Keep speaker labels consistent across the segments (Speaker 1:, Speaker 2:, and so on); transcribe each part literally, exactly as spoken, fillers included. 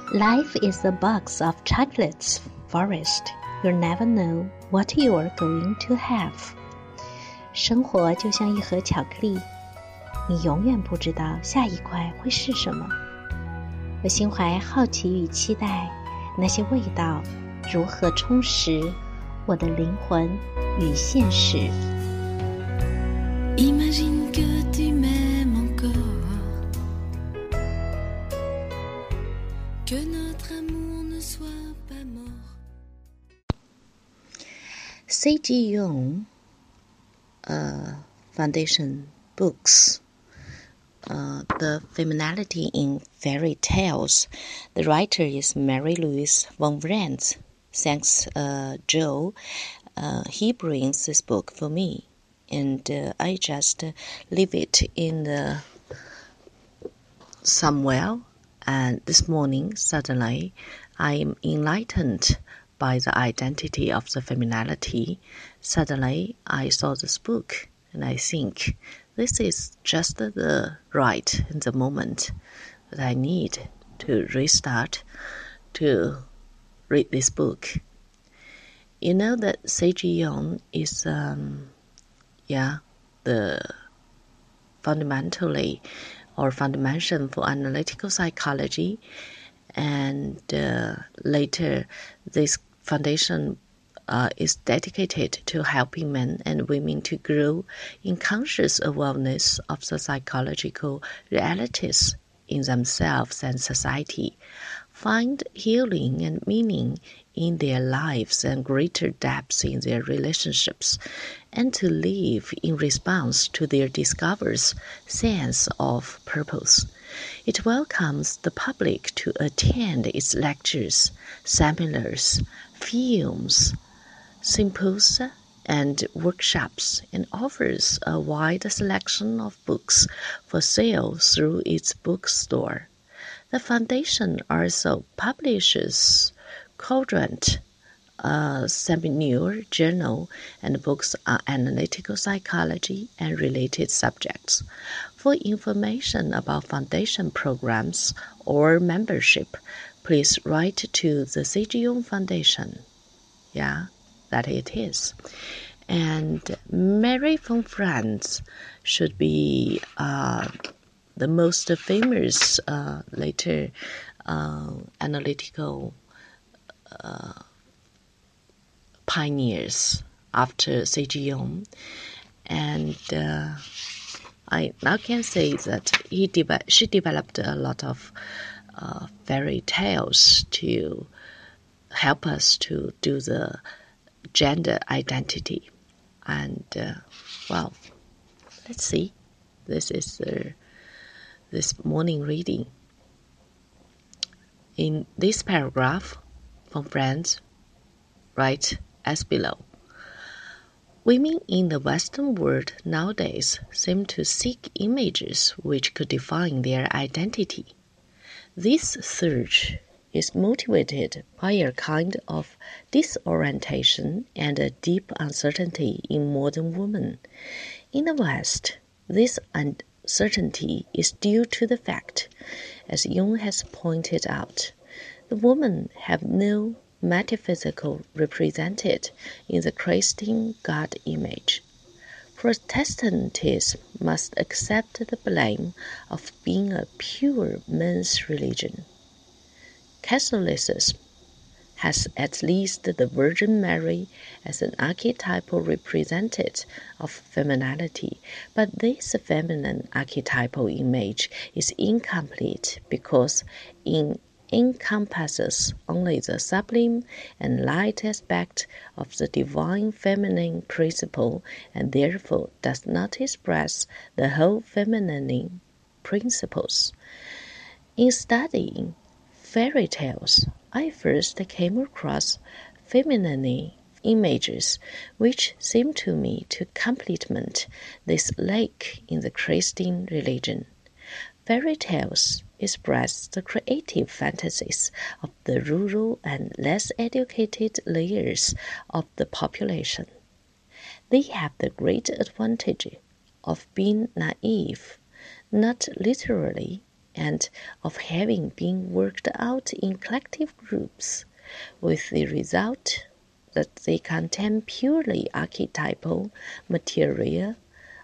Speaker 1: Life is a box of chocolates, Forest. You never know what you are going to have. 生活就像一盒巧克力，你永远不知道下一块会是什么。我心怀好奇与期待，那些味道如何充实我的灵魂与现实。
Speaker 2: Imagine que tu m'aimes encore, que notre amour ne soit pas mort.
Speaker 1: C G Jung uh, Foundation books, uh, The Femininity in Fairy Tales. The writer is Mary Louise von Vrandt. Thanks, uh, Joe. Uh, he brings this book for me. And uh, I just uh, leave it in the somewhere, and this morning suddenly I am enlightened by the identity of the femininity. Suddenly I saw this book and I think this is just the right in the moment that I need to restart to read this book. You know that C G Jung is um, yeah, the fundamentally or foundation for analytical psychology, and uh, later this foundation uh, is dedicated to helping men and women to grow in conscious awareness of the psychological realities in themselves and society, find healing and meaning in their lives and greater depth in their relationships, and to live in response to their discovered sense of purpose. It welcomes the public to attend its lectures, seminars, films, symposia, and workshops, and offers a wide selection of books for sale through its bookstore. The foundation also publishes Quadrant, a seminar journal, and books on analytical psychology and related subjects. For information about foundation programs or membership, please write to the C G Jung Foundation. Yeah, that it is. And Mary von Vrandt should be uh, the most famous uh, later uh, analytical uh, pioneers after C G Jung, and uh, I now can say that he de- she developed a lot of uh, fairy tales to help us to do the gender identity. And uh, well, let's see. This is uh, this morning reading. In this paragraph, von Vrandt write as below. Women in the Western world nowadays seem to seek images which could define their identity. This search is motivated by a kind of disorientation and a deep uncertainty in modern women. In the West, this uncertainty is due to the fact, as Jung has pointed out, the women have no metaphysical represented in the Christian God image. Protestantism must accept the blame of being a pure men's religion. Catholicism has at least the Virgin Mary as an archetypal representative of femininity, but this feminine archetypal image is incomplete because it encompasses only the sublime and light aspect of the divine feminine principle, and therefore does not express the whole feminine principles. In studying fairy tales, I first came across feminine images which seem to me to complement this lack in the Christian religion. Fairy tales express the creative fantasies of the rural and less educated layers of the population. They have the great advantage of being naive, not literally and of having been worked out in collective groups, with the result that they contain purely archetypal material,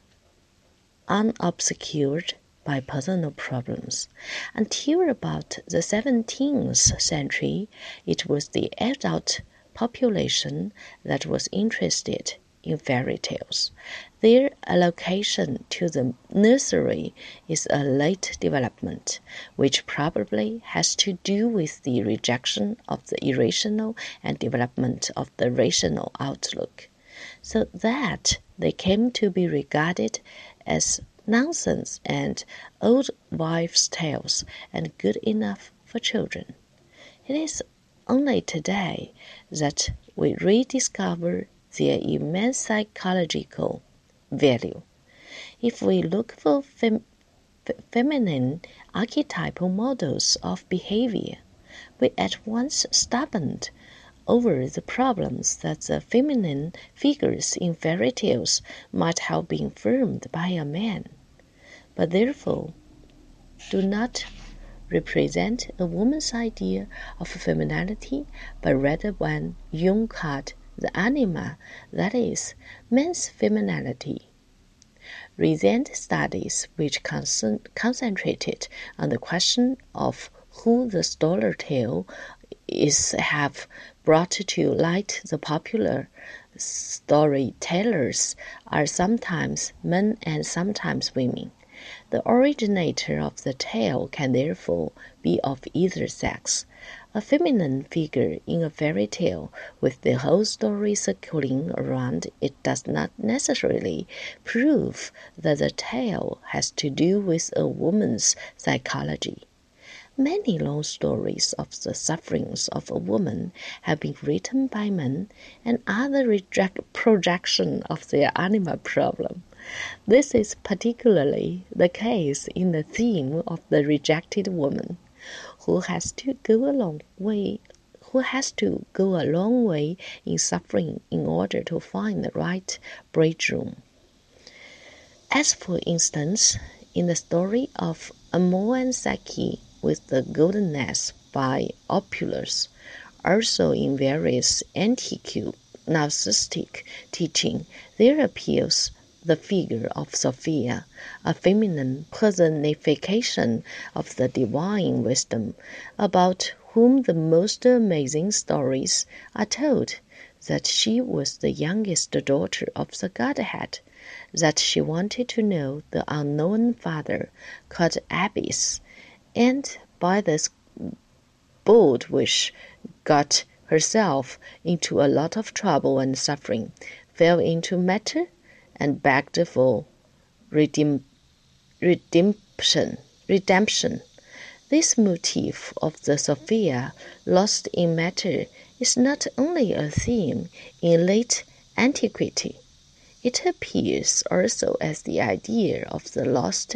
Speaker 1: unobscured by personal problems. Until about the seventeenth century, it was the adult population that was interested in fairy tales. Their allocation to the nursery is a late development, which probably has to do with the rejection of the irrational and development of the rational outlook, so that they came to be regarded as nonsense and old wives' tales and good enough for children. It is only today that we rediscover their immense psychological value. If we look for fem- feminine archetypal models of behavior, we at once stumble over the problems that the feminine figures in fairy tales might have been formed by a man, but therefore do not represent a woman's idea of femininity, but rather one Jung called the anima, that is, man's femininity. Recent studies which con- concentrated on the question of who the story tale is have brought to light the popular storytellers are sometimes men and sometimes women. The originator of the tale can therefore be of either sex. A feminine figure in a fairy tale with the whole story circling around it does not necessarily prove that the tale has to do with a woman's psychology. Many long stories of the sufferings of a woman have been written by men and other reject- projection of their anima problem. This is particularly the case in the theme of the rejected woman, who has to go a long way, who has to go a long way in suffering in order to find the right bridegroom. As for instance, in the story of Amor and Psyche with the Golden Nest by Apuleius, also in various antique Gnostic teaching, there appears the figure of Sophia, a feminine personification of the divine wisdom, about whom the most amazing stories are told, that she was the youngest daughter of the Godhead, that she wanted to know the unknown father, called Abyss, and by this bold wish got herself into a lot of trouble and suffering, fell into matter, and begged for redeem, redemption. redemption. This motif of the Sophia lost in matter is not only a theme in late antiquity. It appears also as the idea of the lost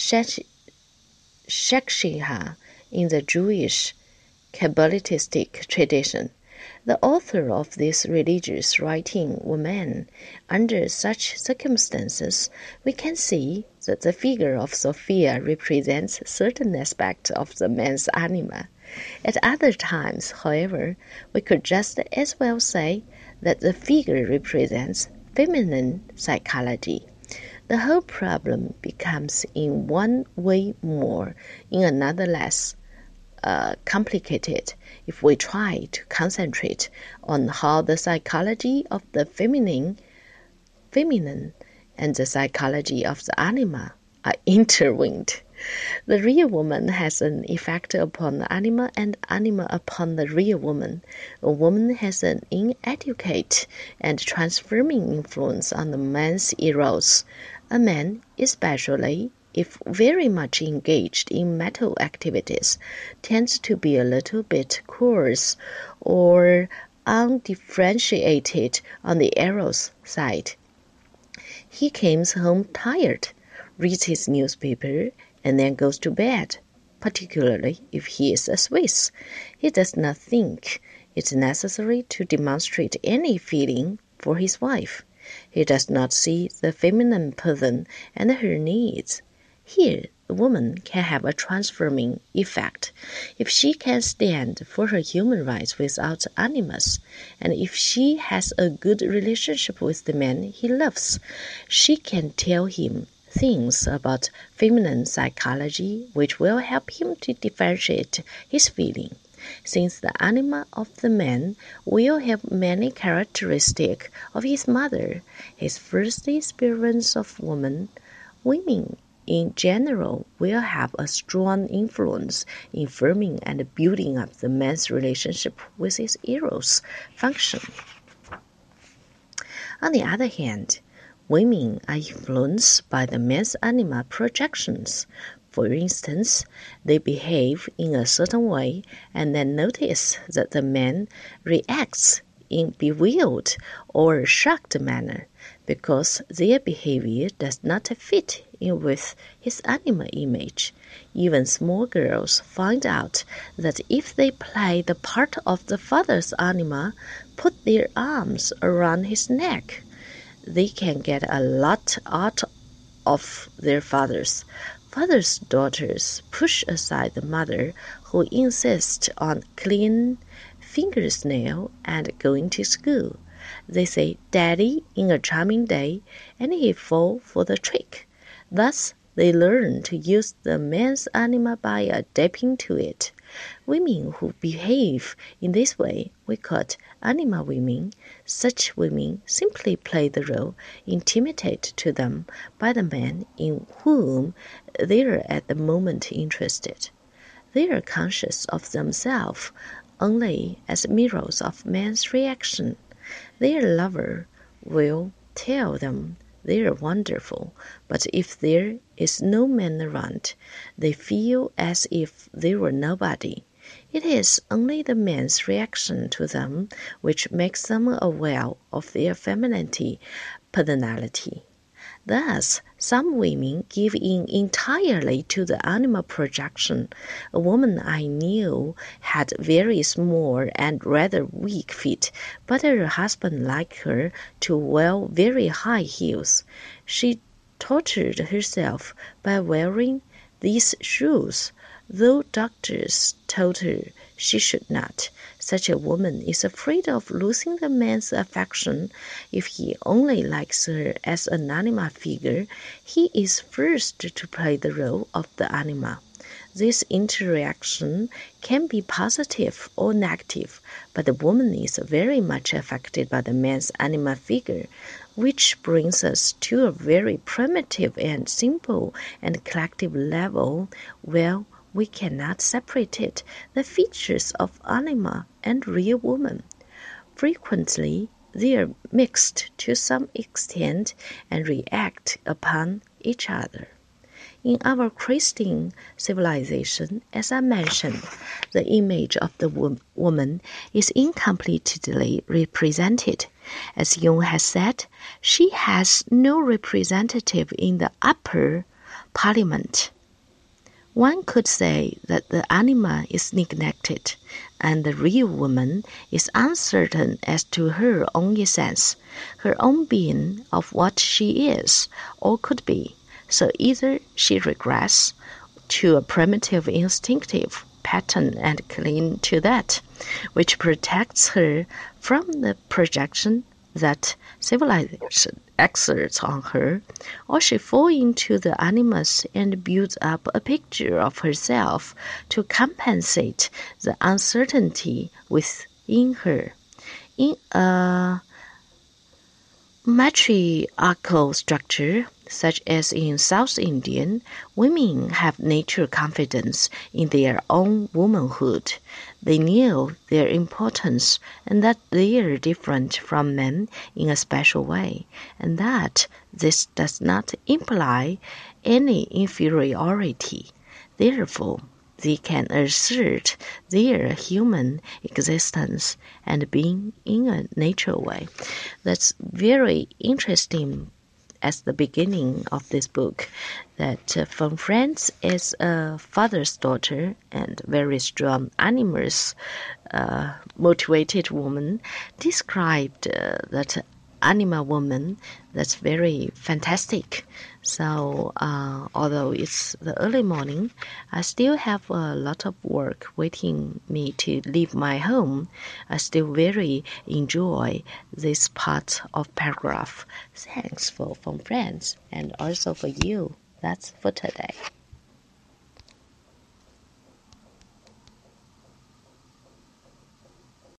Speaker 1: Shekhinah in the Jewish Kabbalistic tradition. The author of this religious writing were men. Under such circumstances, we can see that the figure of Sophia represents certain aspects of the man's anima. At other times, however, we could just as well say that the figure represents feminine psychology. The whole problem becomes in one way more, in another less uh, complicated if we try to concentrate on how the psychology of the feminine, feminine and the psychology of the anima are intertwined. The real woman has an effect upon the anima and anima upon the real woman. A woman has an inadequate and transforming influence on the man's eros. A man, especially if very much engaged in mental activities, tends to be a little bit coarse or undifferentiated on the eros side. He comes home tired, reads his newspaper, and then goes to bed, particularly if he is a Swiss. He does not think it necessary to demonstrate any feeling for his wife. He does not see the feminine person and her needs. Here, woman can have a transforming effect if she can stand for her human rights without animus, and if she has a good relationship with the man he loves. She can tell him things about feminine psychology which will help him to differentiate his feeling. Since the anima of the man will have many characteristics of his mother, his first experience of woman, women in general will have a strong influence in forming and building up the man's relationship with his eros function. On the other hand, women are influenced by the man's anima projections. For instance, they behave in a certain way and then notice that the man reacts in bewildered or shocked manner because their behavior does not fit in with his anima image. Even small girls find out that if they play the part of the father's anima, put their arms around his neck, they can get a lot out of their fathers. Father's daughters push aside the mother who insists on clean fingersnail and going to school. They say "Daddy" in a charming day, and he fall for the trick. Thus, they learn to use the man's anima by adapting to it. Women who behave in this way we call anima women. Such women simply play the role intimidated to them by the man in whom they are at the moment interested. They are conscious of themselves only as mirrors of man's reaction. Their lover will tell them they are wonderful, but if there is no man around, they feel as if they were nobody. It is only the man's reaction to them which makes them aware of their femininity, personality. Thus, some women give in entirely to the anima projection. A woman I knew had very small and rather weak feet, but her husband liked her to wear very high heels. She tortured herself by wearing these shoes, though doctors told her she should not. Such a woman is afraid of losing the man's affection. If he only likes her as an anima figure, he is forced to play the role of the anima. This interaction can be positive or negative, but the woman is very much affected by the man's anima figure, which brings us to a very primitive and simple and collective level where we cannot separate it, the features of anima and real woman. Frequently, they are mixed to some extent and react upon each other. In our Christian civilization, as I mentioned, the image of the wo- woman is incompletely represented. As Jung has said, she has no representative in the upper parliament. One could say that the anima is neglected, and the real woman is uncertain as to her own essence, her own being of what she is or could be. So either she regrets to a primitive instinctive pattern and cling to that, which protects her from the projection that civilization exerts on her, or she falls into the animus and builds up a picture of herself to compensate the uncertainty within her. In a matriarchal structure, such as in South Indian, women have natural confidence in their own womanhood. They know their importance and that they are different from men in a special way, and that this does not imply any inferiority. Therefore, they can assert their human existence and being in a natural way. That's very interesting as the beginning of this book, that uh, Von Franz is a father's daughter and very strong, animus uh, motivated woman, described uh, that anima woman that's very fantastic. So uh, although it's the early morning, I still have a lot of work waiting me to leave my home. I still very enjoy this part of paragraph. Thanks for from friends and also for you. That's for today.